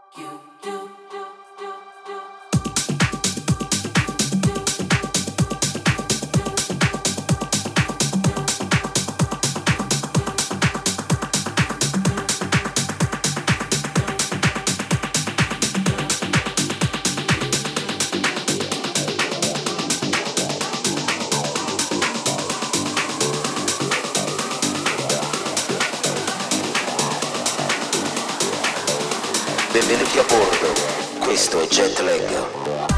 Benvenuti a bordo, questo è Jetlag.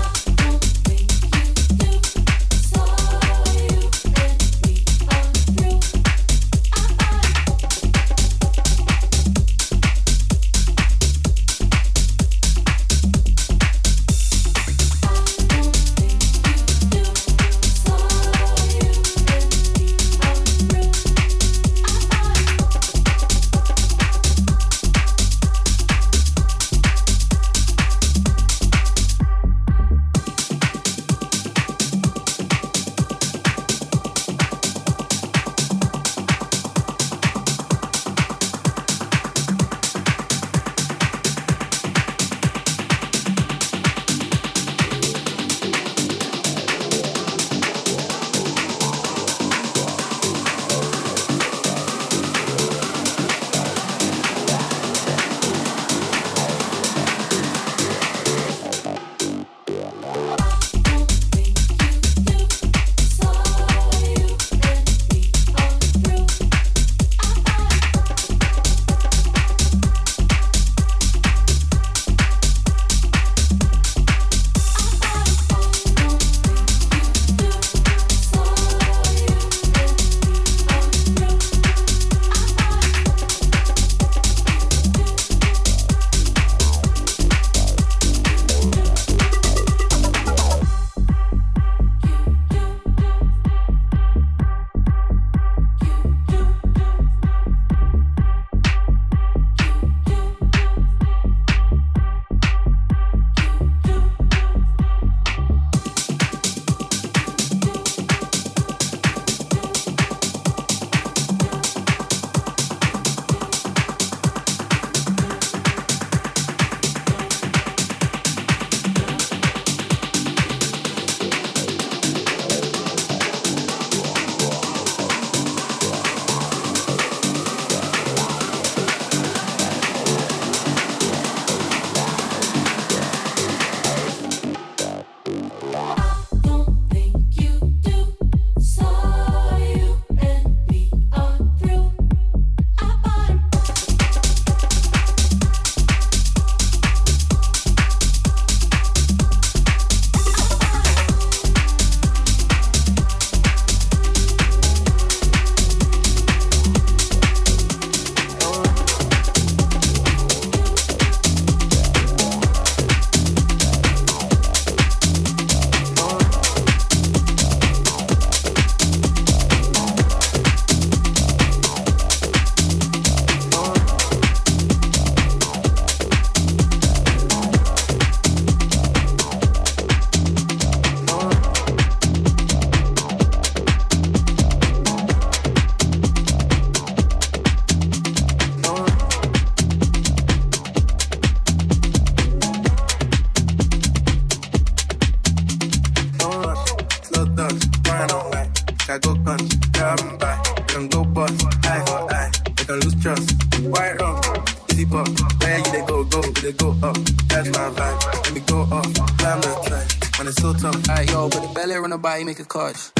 Nobody make a catch.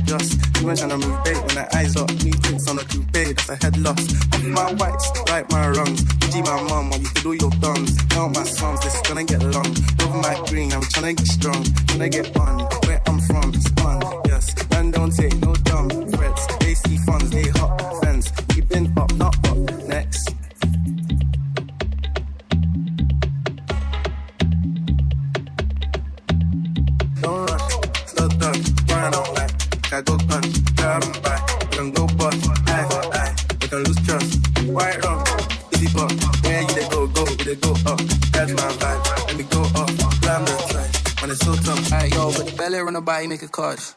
just. You ain't tryna move bait when the eyes up. New drinks on a coupe, that's a head loss. Off my whites, right my wrongs. G my mum, while you could do your thumbs. Count my sums, this is gonna get long. Over my green, I'm tryna get strong. Tryna get on, where I'm from, it's on. Yes, man don't take no dumb threats. They see funds, they hot fence. You been up, not up, next. Don't rush, slow down, grind on like I go punch, come by, we can go bust, eye for eye, we can lose trust. White wrong, easy pop, where you they go, we they go up. That's my vibe, let me go up, climb the track, when it's so tough. Alright, yo, put the belly on the body, make a catch.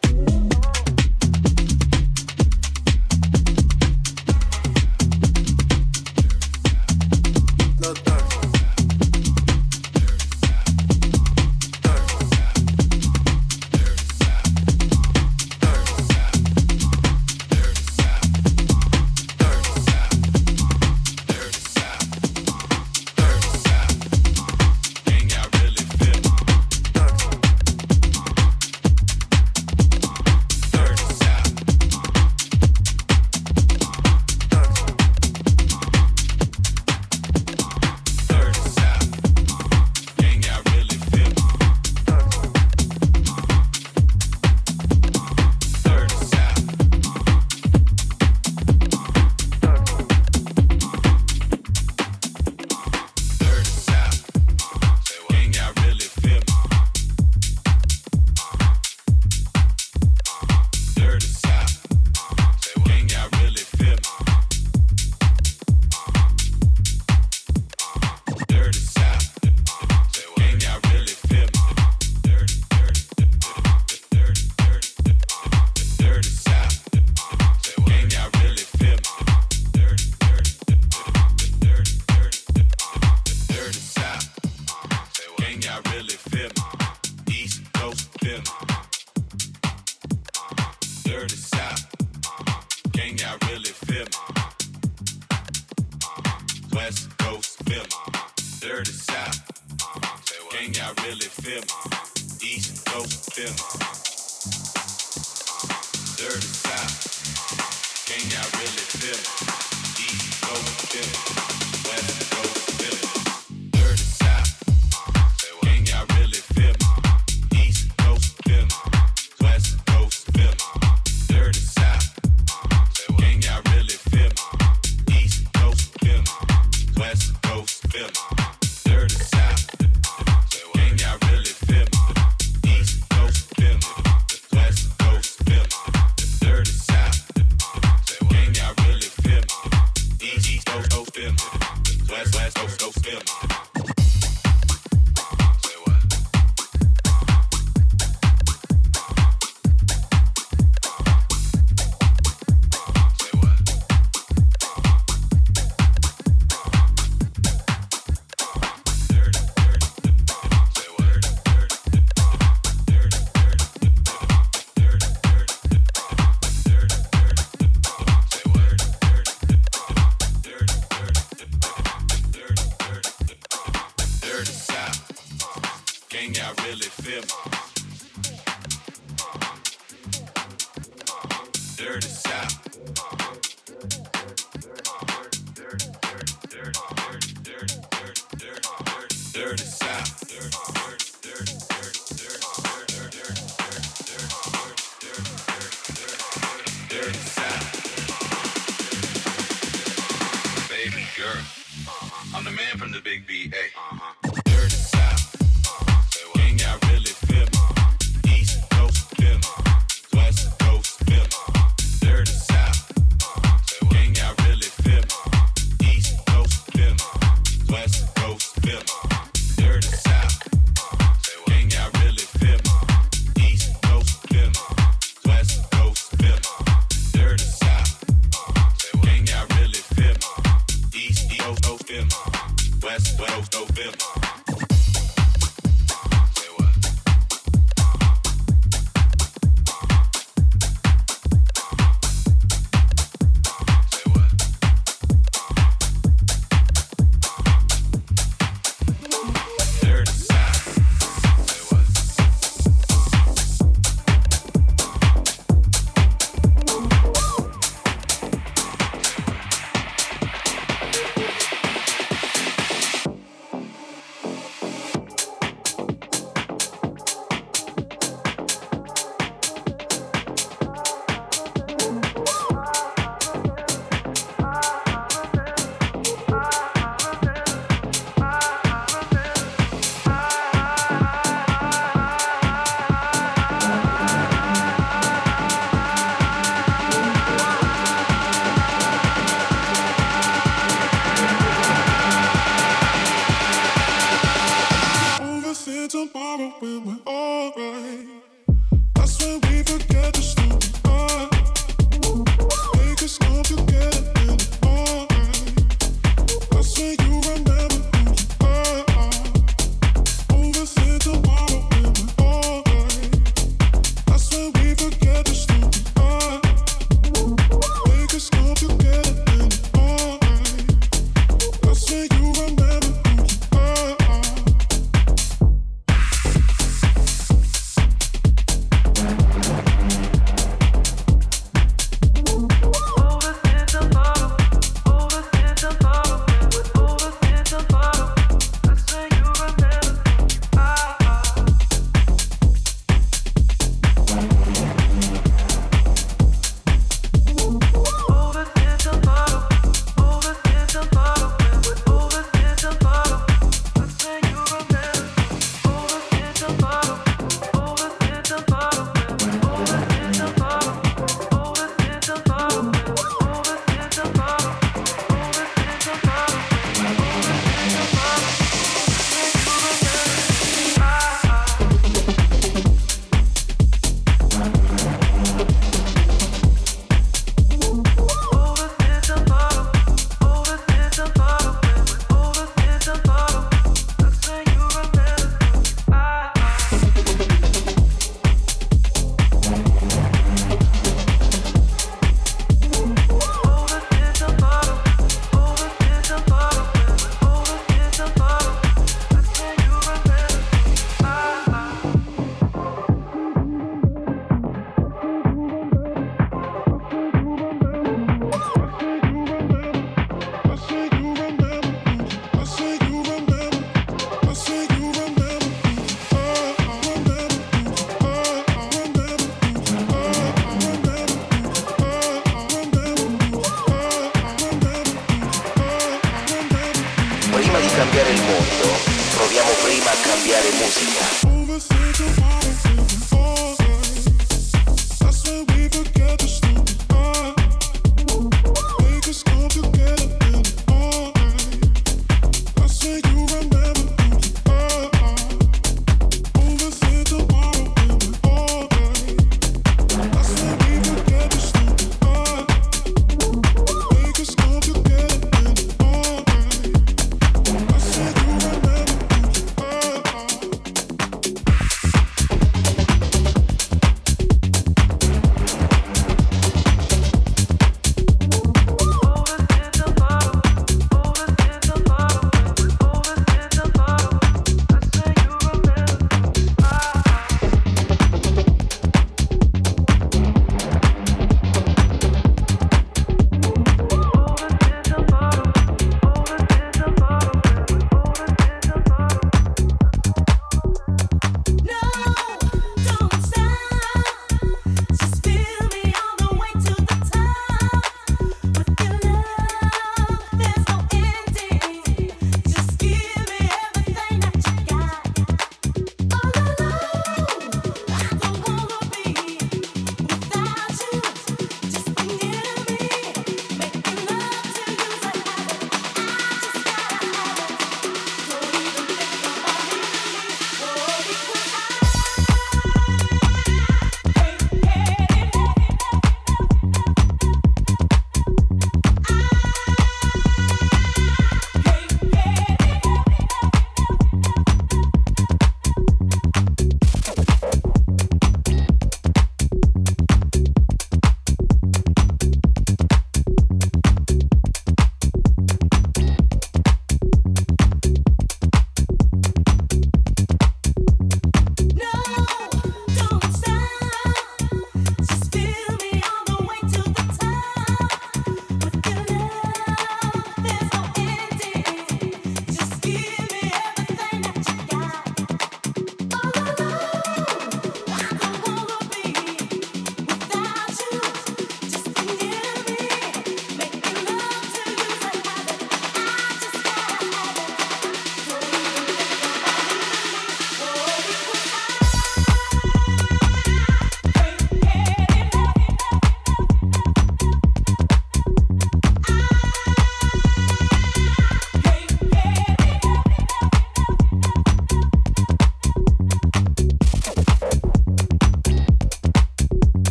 cambiare musica.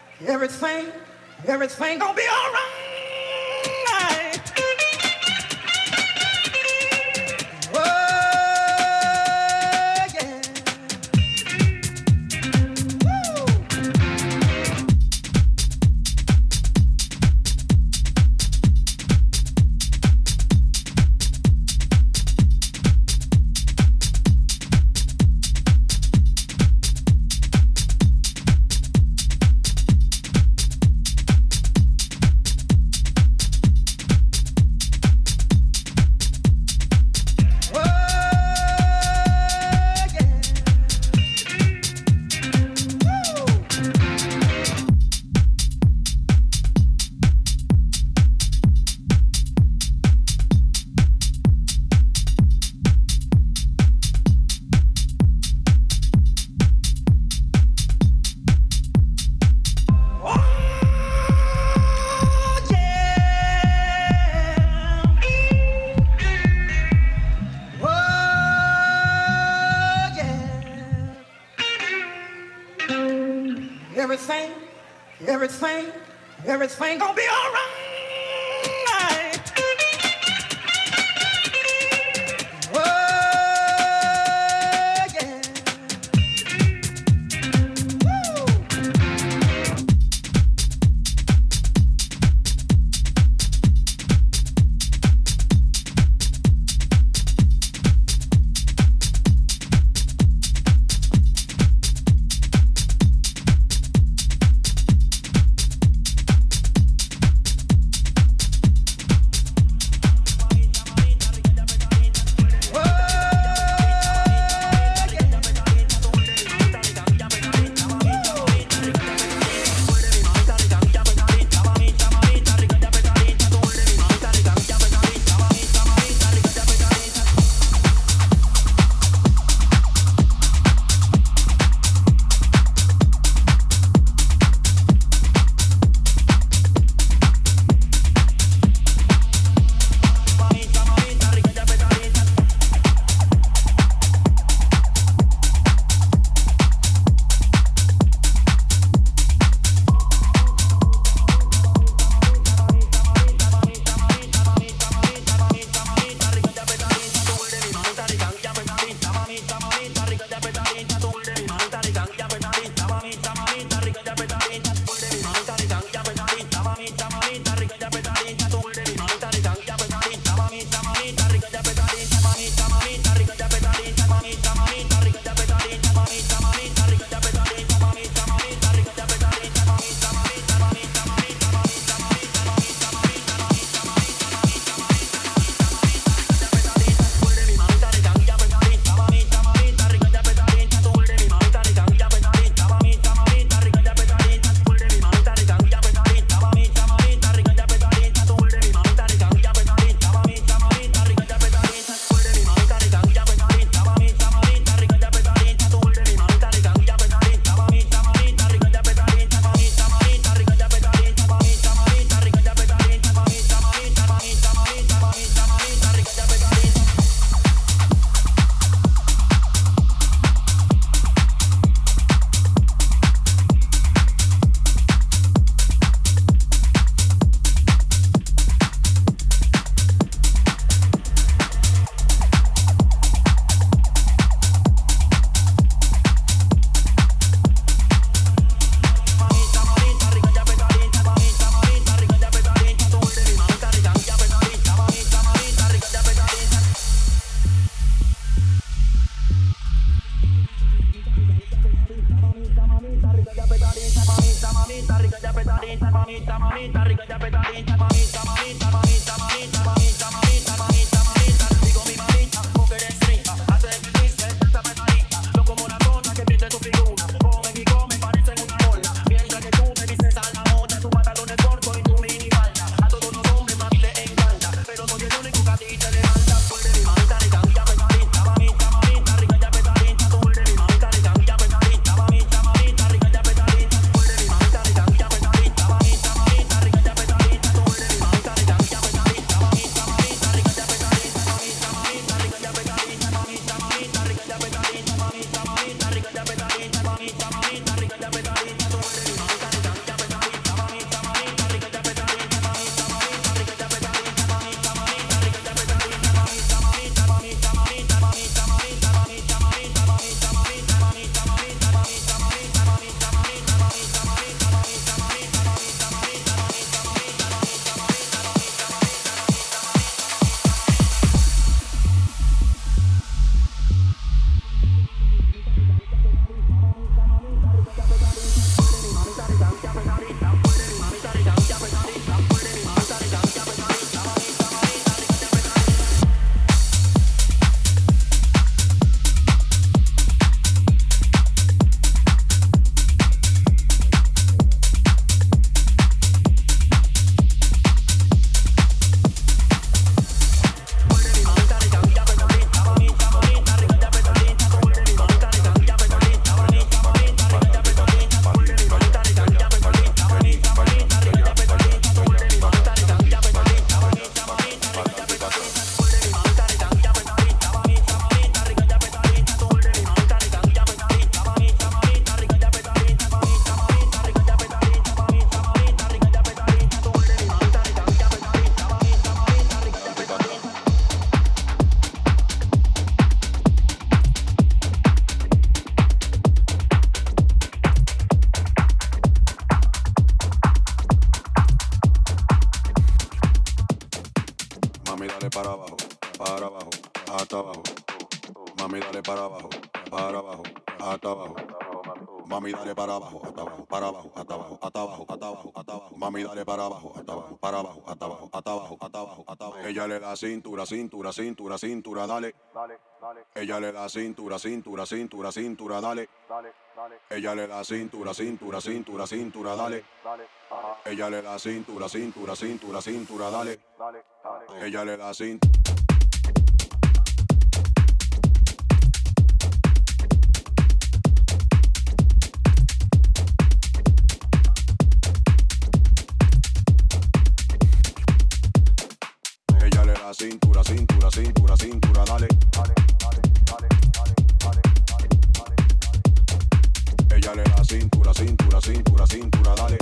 everything gonna be all right. everything gonna be all right. dale para abajo, hasta abajo. Mami, dale para abajo, hasta abajo. Mami, dale para abajo, hasta abajo, para abajo, hasta abajo, hasta abajo, hasta abajo, hasta abajo. Mami, dale para abajo, hasta abajo, para abajo, hasta abajo, hasta abajo, hasta abajo, hasta abajo. Ella le da cintura, cintura, cintura, cintura, dale. Ella le da cintura, cintura, cintura, cintura, dale. Ella le da cintura, cintura, cintura, cintura, dale. Ella le da cintura, cintura, cintura, cintura, dale. Ella le da cintura. Cintura, cintura, cintura, cintura, dale. Ella le da cintura, cintura, cintura, cintura, dale.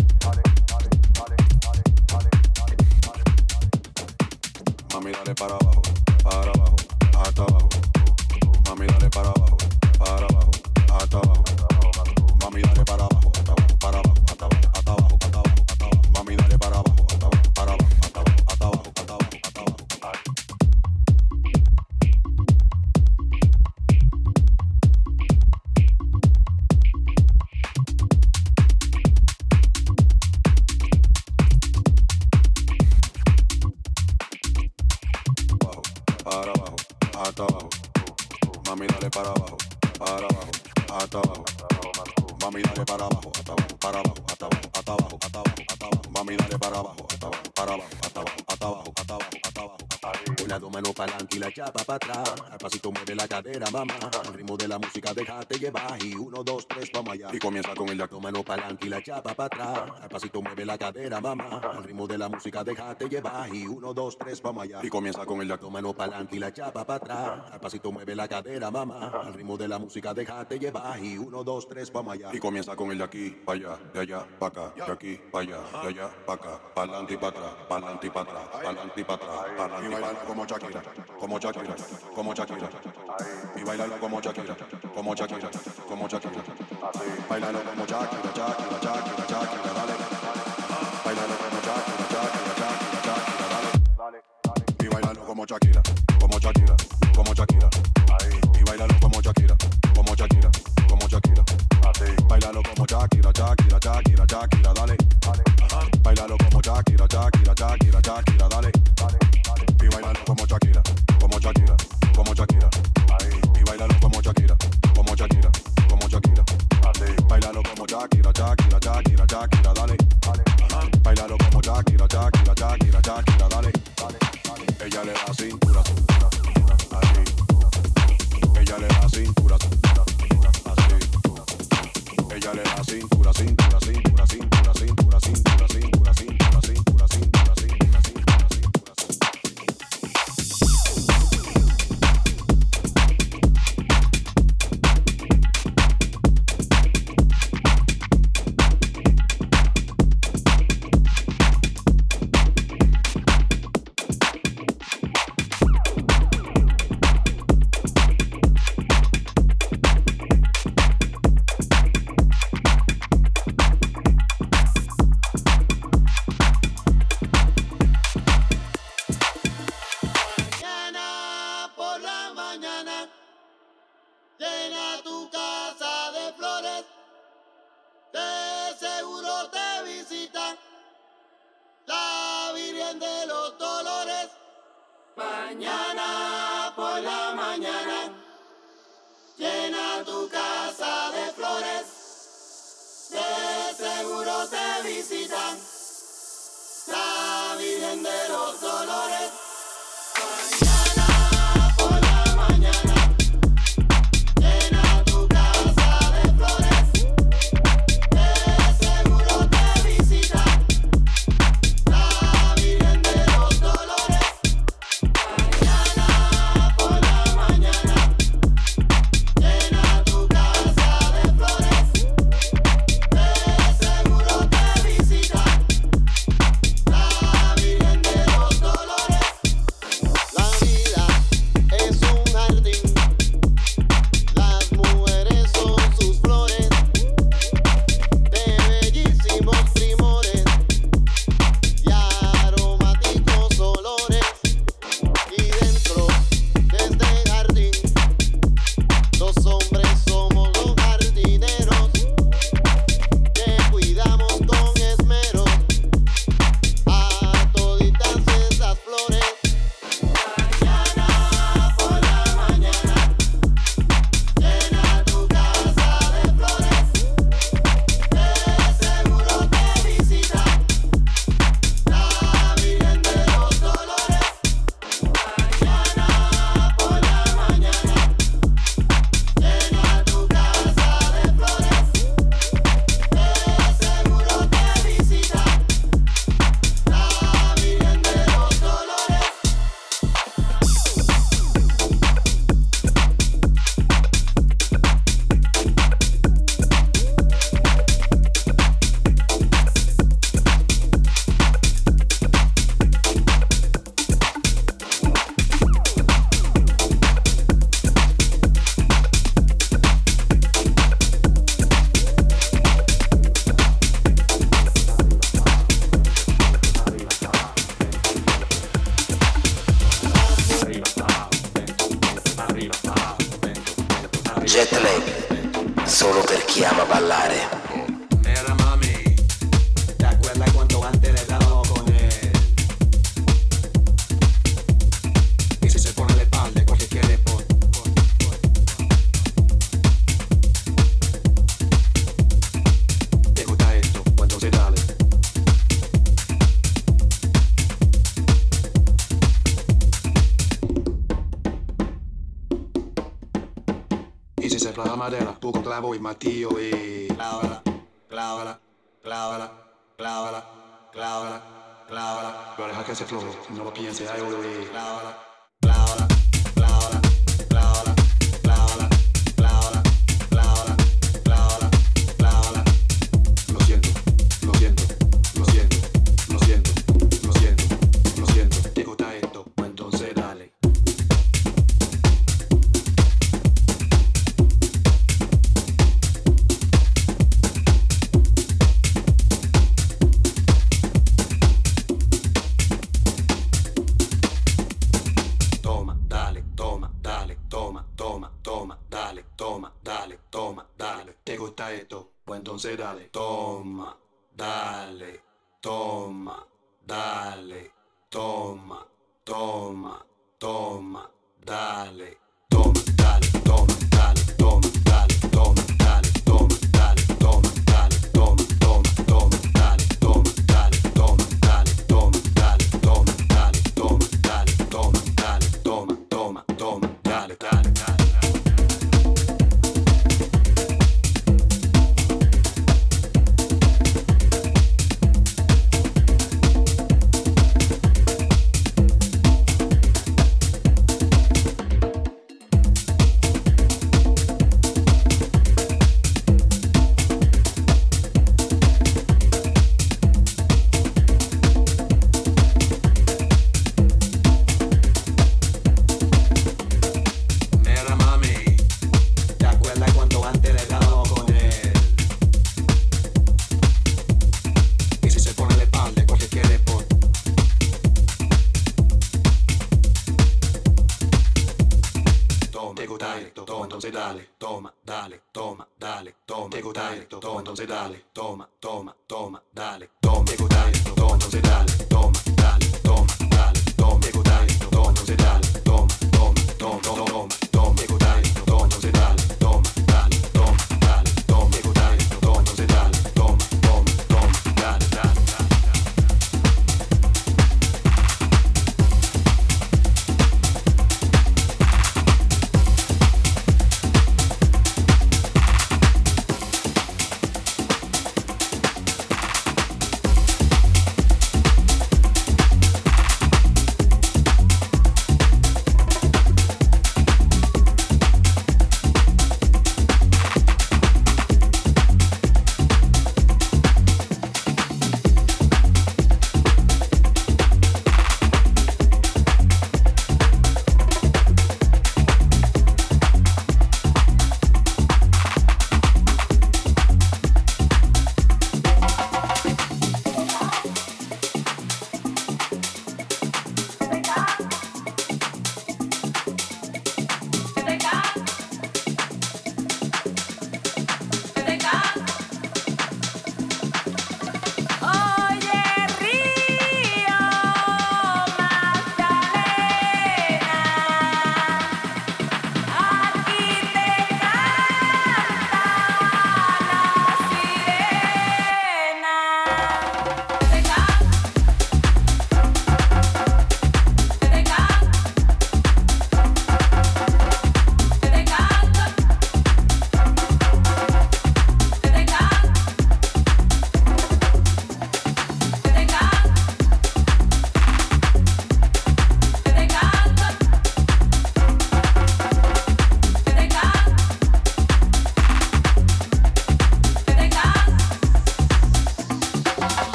Mami, dale para abajo, hasta abajo. Mami, dale para abajo, hasta abajo. Mami, dale para abajo, hasta abajo, para abajo, hasta abajo, hasta abajo, hasta abajo, hasta abajo. Mami, dale para abajo, hasta abajo, para abajo, hasta abajo, hasta abajo, hasta abajo, hasta abajo. Para abajo, hasta abajo. Mami, dale para abajo, hasta abajo. Mami, dale para abajo, hasta abajo, para abajo, hasta abajo, hasta abajo, hasta abajo, hasta abajo. Mami, dale para abajo, hasta abajo, para abajo, hasta abajo, hasta abajo, hasta abajo, hasta abajo. Con las dos manos para adelante y la chapa para atrás. Al pasito mueve la cadera, mamá. Al ritmo de la música déjate llevar. Y 1, 2, 3, vamos allá. Y comienza con el jack. Dos manos para adelante y la chapa para atrás. Al pasito mueve la cadera, mamá. Al ritmo de la música déjate llevar. Y 1, 2, 3, vamos allá. Y comienza con el jack. Dos manos para adelante y la chapa para atrás. Al pasito mueve la cadera, mamá. Al ritmo de la música déjate llevar. Y 1, 2, 3, vamos allá. Y comienza con el de aquí para allá, de allá para acá, de aquí para allá, de allá para acá, para adelante y para atrás, para adelante y para atrás, para adelante y para atrás, para adelante y para atrás. Como Shakira, como Shakira, como Shakira. Y bailalo como Shakira, como Shakira, como Shakira. Bailalo como Shakira, Shakira, Shakira, Shakira, dale. Bailalo como Shakira, Shakira, Shakira, Shakira, dale. Y bailalo como Shakira, como Shakira, como Shakira. Y bailalo como Shakira, como Shakira, como Shakira. Bailalo como Shakira, Shakira, Shakira, Shakira, dale. Bailalo como Shakira, Shakira, Shakira, Shakira, dale. Y bailalo como Shakira, como Shakira, como Shakira. Y bailalo como Shakira, como Shakira, como Shakira. Bailalo como Shakira, Shakira, Shakira, Shakira, dale. Bailalo como Shakira, Shakira, Shakira, Shakira, dale. Ella le da cintura, así. Ella le da cintura, así. Ella le da cintura, cintura, cintura, cintura, cintura, cintura, cintura, cintura, cintura, cintura, cintura, cintura, cintura. Mañana por la mañana, llena tu casa de flores, de seguro te visitan la Virgen de los Dolores. Mañana por la mañana, llena tu casa de flores, de seguro te visitan la Virgen de los Dolores. Mañana por la mañana, llena tu casa de flores, de seguro te visitan la Virgen de los chi ama ballare. Era mami, ¿te acuerdas cuando antes le dábamos con él? Y si se pone la espalda, porque quiere por. ¿Te gusta esto? Pues entonces dale. Y si se flaja madera, tú con clavo y martillo y clávala, clávala, clávala, clávala, clávala, clávala. Pero deja que se floje, no lo pienses, ay, uy, uy. Clávala, clávala, clávala, clávala, clávala, clávala, clávala, clávala, clávala. Lo siento, lo siento, lo siento, lo siento, lo siento, lo siento. ¿Te gusta esto? Pues entonces dale. Toma, dale, toma, dale, toma, toma, toma, dale, toma, dale, toma, dale. ¿Te gusta esto? Pues entonces dale. Toma, dale, toma, dale, toma, toma, toma, dale. Toma, dale, toma, dale, toma, dale, toma, dale, toma, dale, toma, dale, toma, toma, toma, dale, toma, dale, toma, dale, toma, dale, toma, dale, toma, dale, toma, dale, toma, toma, toma, dale, dale, dale. Mira mami, ¿te acuerdas cuando antes le dábamos con él? Y si se pone la espalda, porque quiere por. Toma, ¿te gusta esto? Toma, entonces dale. Toma, dale, toma, dale, toma. ¿Te gusta esto? Toma, entonces dale. Toma, toma, toma, dale. Toma, ¿te gusta esto? Toma, entonces dale. Toma, dale, toma, dale. Toma, ¿te gusta esto? Toma, entonces dale. Toma, toma, toma, toma, toma. Toma, ¿te gusta esto? Toma, entonces dale. Toma, dale, toma, dale. Toma, ¿te gusta esto? Toma, entonces dale. Toma, toma, toma, dale, dale, dale.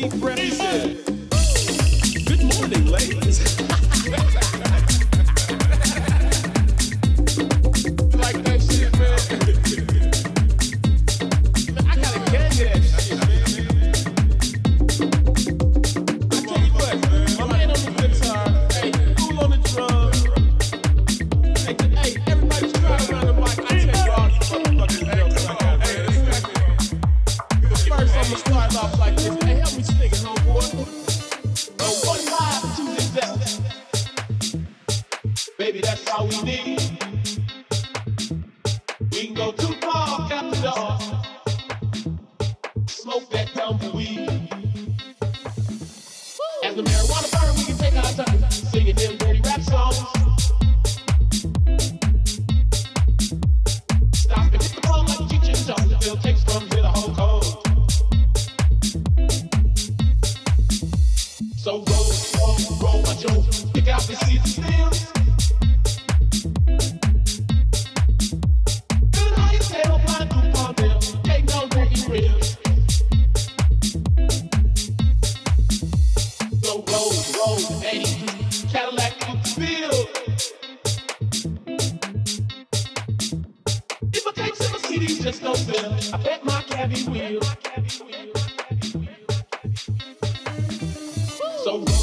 deep breath, he said, "Good morning, ladies." Like that shit, man. I gotta get that shit, man. I tell you what, my man on the guitar, hey, cool on the drums. Hey, everybody just try around the mic. I tell you all these motherfucking jokes I got, man. But first, I'm gonna start off like this. Hey, help me sing it, homeboy. No 1-5 to the death. Baby, that's all we need. We can go too far, got the door. Smoke that tumbleweed. As the marijuana burn, we can take our time singing them dirty rap songs. Stop and hit the ball like Cheech and Chong. The field takes from to the whole code. So roll my joint, pick out the seeds and stems. Good high as hell, blind through palm bill, ain't no dirty ribs. So roll, 83 Cadillac through the field. If I take some CDs, just no bill, I bet my cabby will. So roll.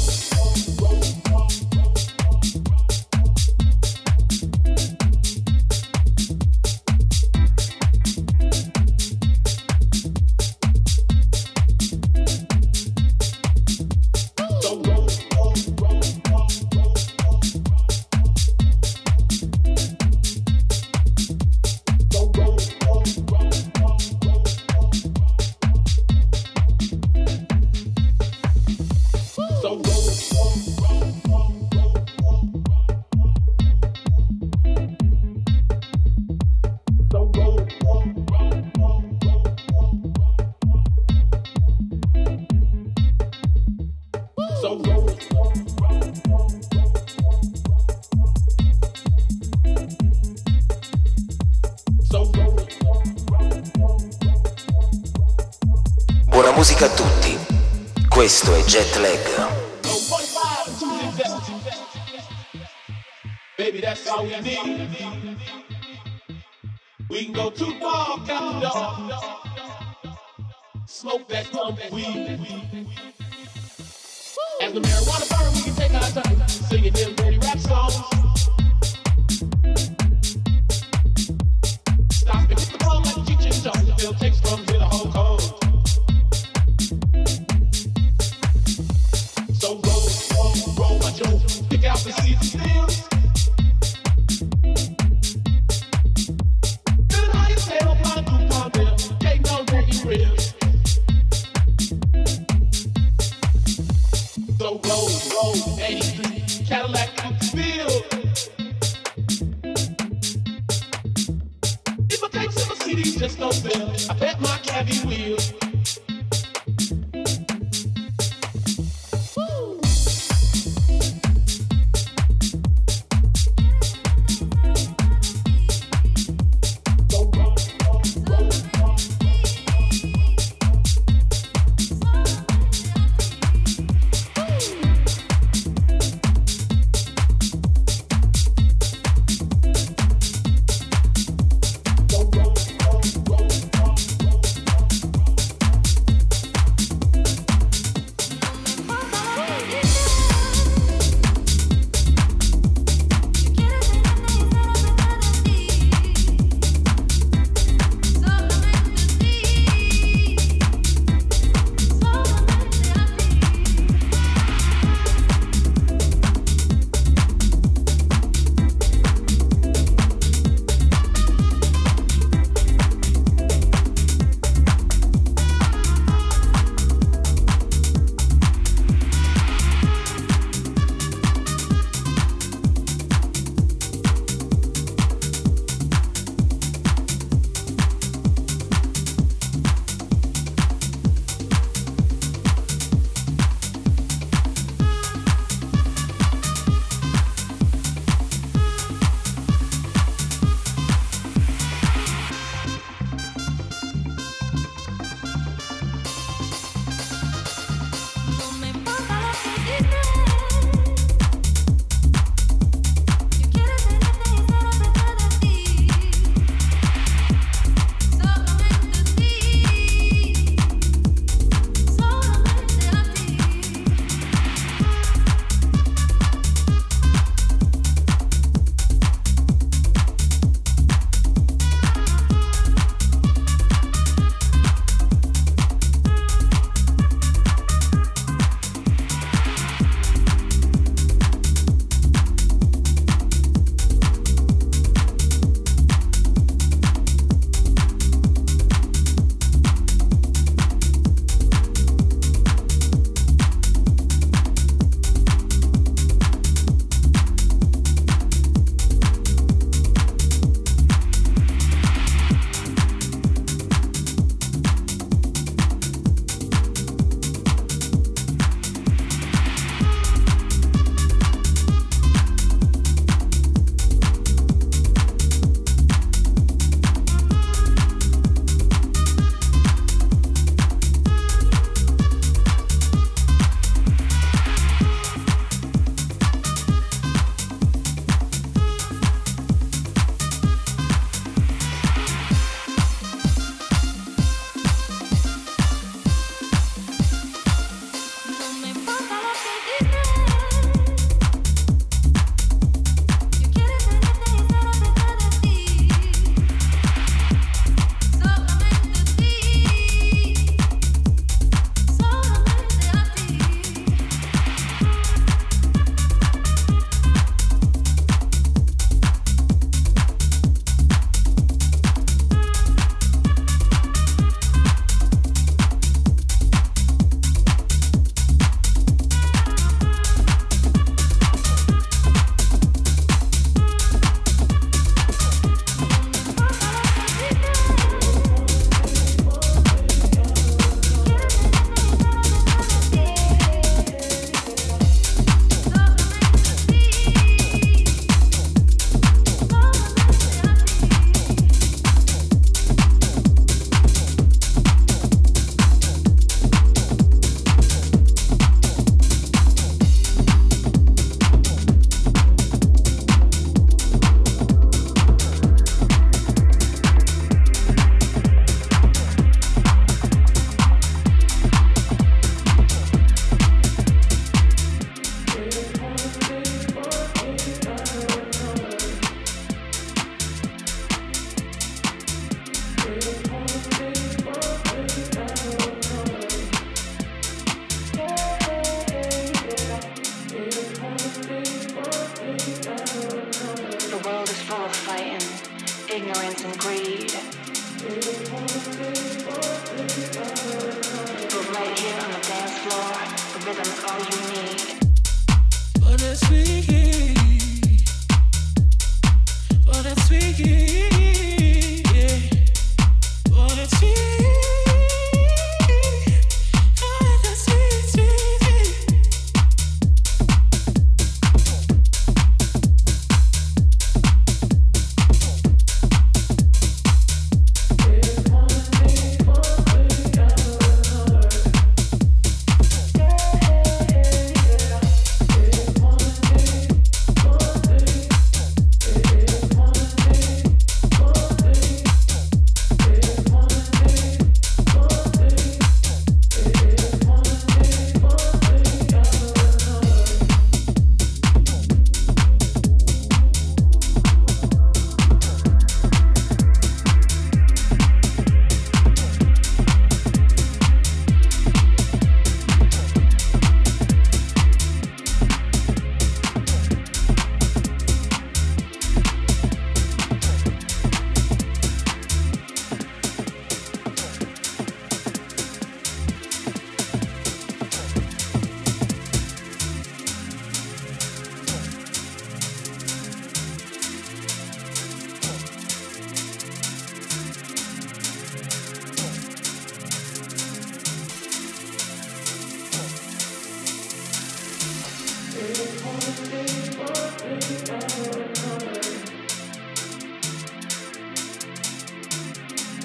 Buona musica a tutti. Questo è Jetlag. Baby, that's all we need. We can go too far, got the door. Smoke that tumbleweed. As the marijuana burn, we can take our time singing them dirty rap songs. Stop and hit the ball like Cheech and Chong. The field takes from to the whole code. So roll my joint, pick out the seeds and stems. Good high as hell, blind through palm bill, ain't no dirty ribs. So roll, 83 Cadillac through the field. If I take some CDs, just no bill, I bet my cabby will.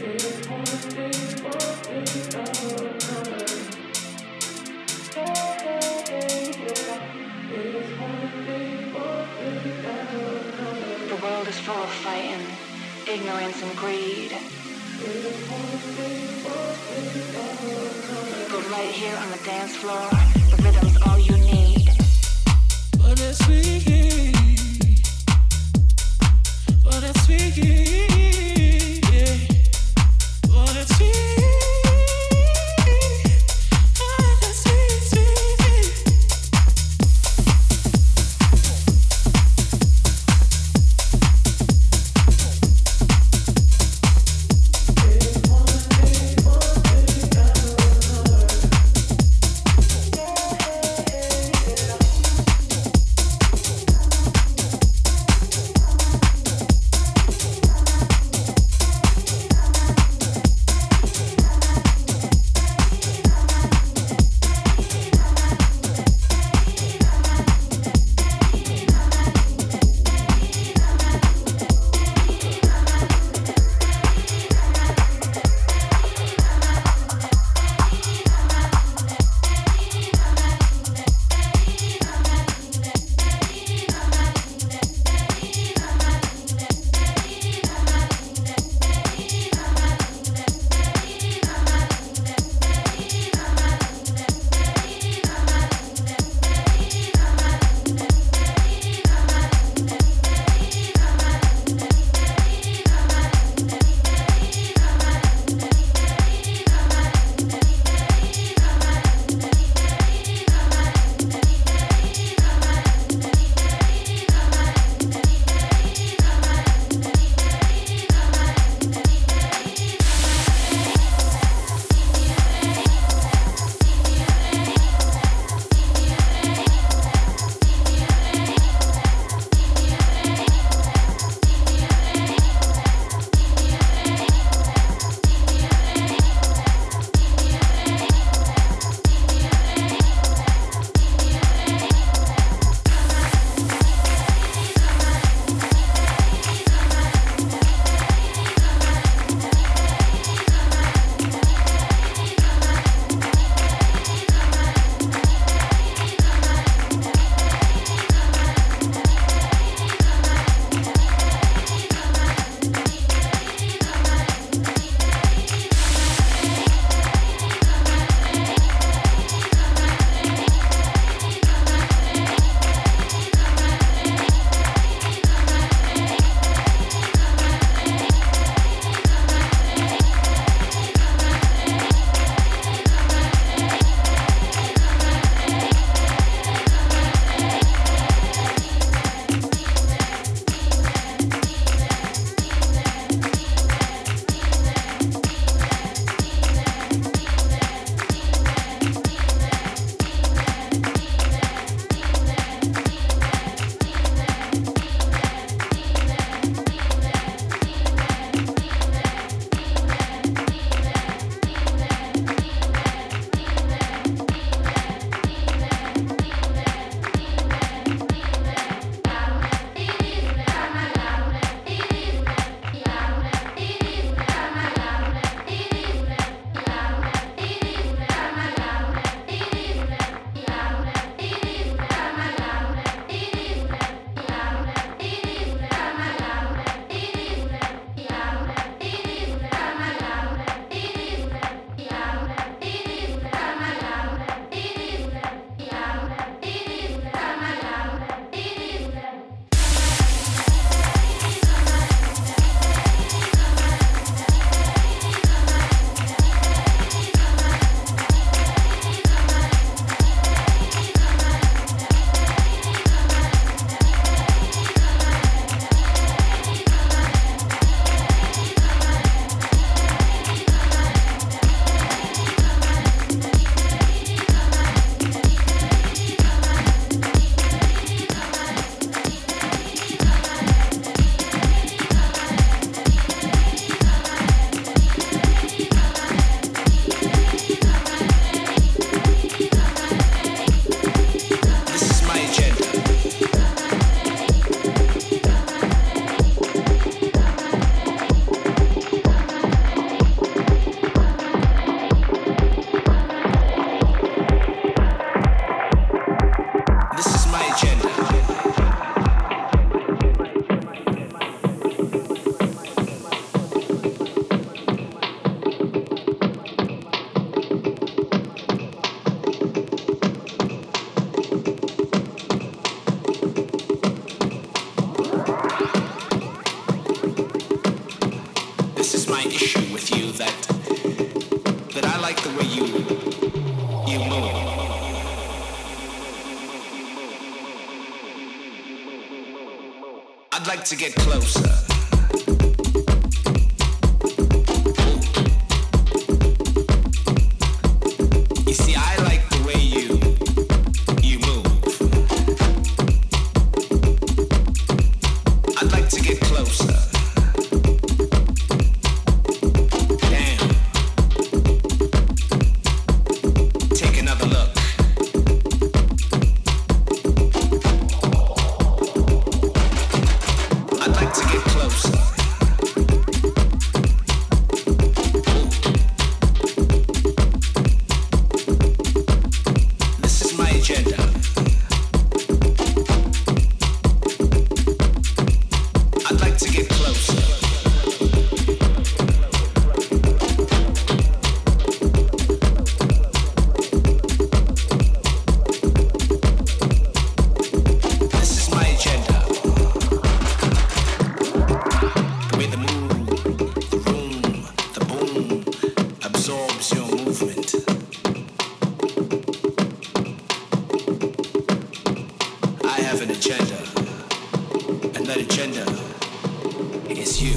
The world is full of fighting, ignorance and greed. But right here on the dance floor, the rhythm's all you need. But it's sweet, but it's sweet, yeah. But it's sweet. to you that I like the way you move. I'd like to get closer. You see, I like the way you move. I'd like to get closer. Damn. Take another look. I'd like to get closer. This is my agenda. I'd like to get closer. This is my agenda. The way the mood, the room, the boom absorbs your movement. I have an agenda, and that agenda is you.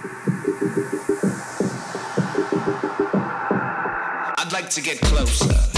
I'd like to get closer.